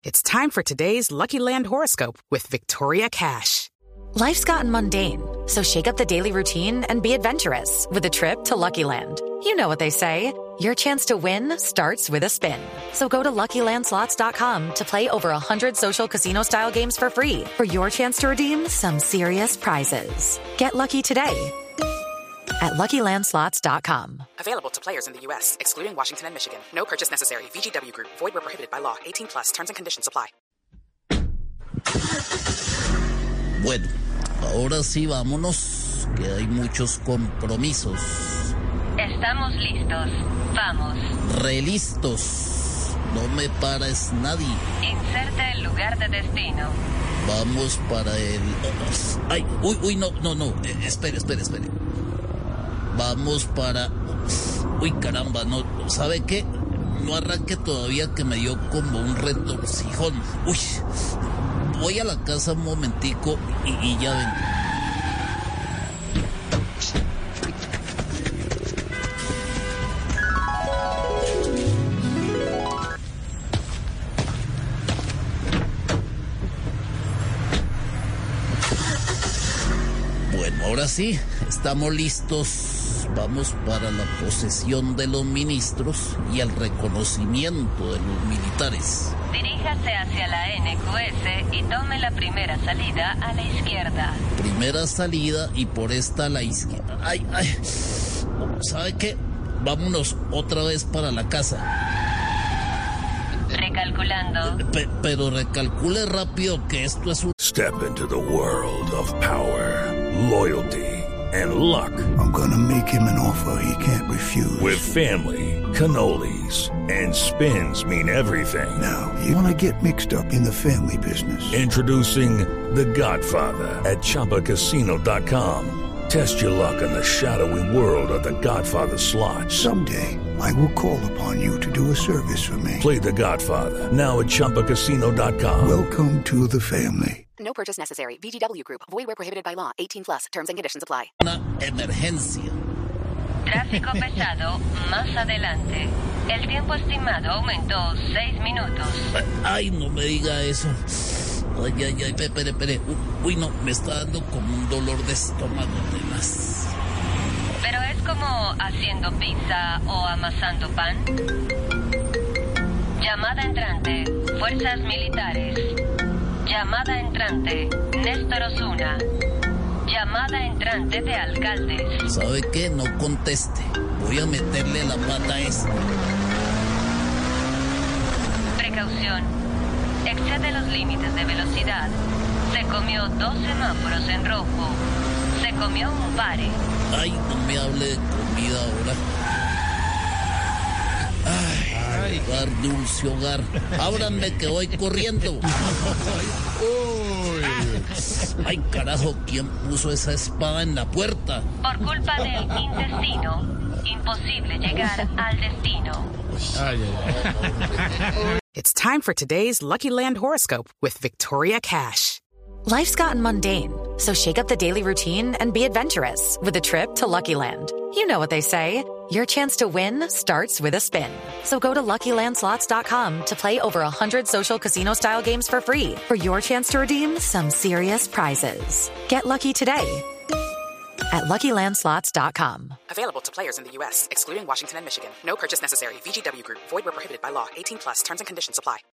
It's time for today's Lucky Land horoscope with Victoria Cash. Life's gotten mundane, so shake up the daily routine and be adventurous with a trip to Lucky Land. You know what they say, your chance to win starts with a spin. So go to LuckyLandSlots.com to play over 100 social casino-style games for free for your chance to redeem some serious prizes. Get lucky today at LuckyLandSlots.com. Available to players in the U.S., excluding Washington and Michigan. No purchase necessary. VGW Group. Void where prohibited by law. 18 plus. Terms and conditions apply. Bueno, ahora sí vámonos, que hay muchos compromisos. Estamos listos. Vamos. Relistos. No me pares nadie. Inserte el lugar de destino. Vamos para el... Ay, uy, no. Espere. Vamos para... Uy, caramba, no, ¿sabe qué? No arranque todavía, que me dio como un retorcijón. Uy, voy a la casa un momentico y ya ven. Bueno, ahora sí, estamos listos. Vamos para la posesión de los ministros y el reconocimiento de los militares. Diríjase hacia la NQS y tome la primera salida a la izquierda. Primera salida y por esta a la izquierda. Ay. ¿Sabe qué? Vámonos otra vez para la casa. Recalculando. Pero recalcule rápido, que esto es un... Step into the world of power, loyalty, and luck. I'm gonna make him an offer he can't refuse. With family, cannolis, and spins mean everything. Now, you wanna get mixed up in the family business. Introducing The Godfather at ChumbaCasino.com. Test your luck in the shadowy world of The Godfather slot. Someday, I will call upon you to do a service for me. Play The Godfather, now at ChumbaCasino.com. Welcome to the family. No purchase necessary. VGW Group. Void where prohibited by law. 18 plus. Terms and conditions apply. Una emergencia. Tráfico pesado más adelante. El tiempo estimado aumentó 6 minutos. Ay, no me diga eso. Ay, espere. Uy, no, me está dando como un dolor de estómago además. Pero es como haciendo pizza o amasando pan. Llamada entrante, fuerzas militares. Llamada entrante, Néstor Osuna. Llamada entrante de alcaldes. ¿Sabe qué? No conteste. Voy a meterle la pata a esto. Precaución. Excede los límites de velocidad. Se comió 2 semáforos en rojo. Se comió un pare. Ay, no me hable de comida ahora. Ay, hogar, dulce hogar. Ábranme que voy corriendo. Ay, carajo, ¿quién puso esa espada en la puerta? Por culpa del intestino, imposible llegar al destino. It's time for today's Lucky Land horoscope with Victoria Cash. Life's gotten mundane, so shake up the daily routine and be adventurous with a trip to Lucky Land. You know what they say, your chance to win starts with a spin. So go to LuckyLandSlots.com to play over 100 social casino-style games for free for your chance to redeem some serious prizes. Get lucky today at LuckyLandSlots.com. Available to players in the U.S., excluding Washington and Michigan. No purchase necessary. VGW Group. Void where prohibited by law. 18 plus. Terms and conditions apply.